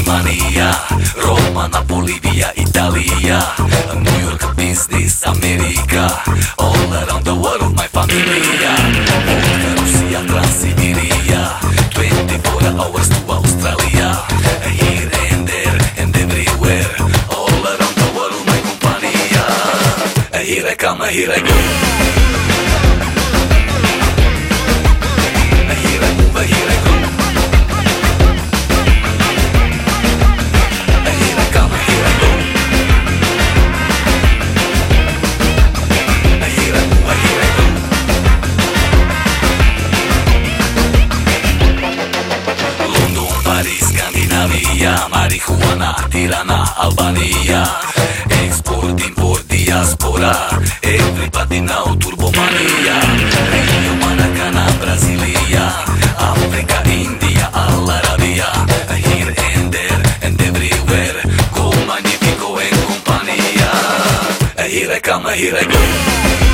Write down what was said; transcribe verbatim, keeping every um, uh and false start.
Germania, Roma, Napoli, via Italia, New York, business, America, all around the world, my familia. Vodka, Russia, Transsiberia, twenty-four hours to Australia, here and there and everywhere, all around the world, my compania. Here I come, here I go. Here I move, here I go. Here I come, here I go. Here I move, here I go. London, Paris, Scandinavia, marijuana, Tirana, Albania, export, import, diaspora, everybody now turbomania. Rio, Maracana, Brasilia, Africa, India, Al Arabia, here and there and everywhere, go magnifico en compania. Here I come, here I go.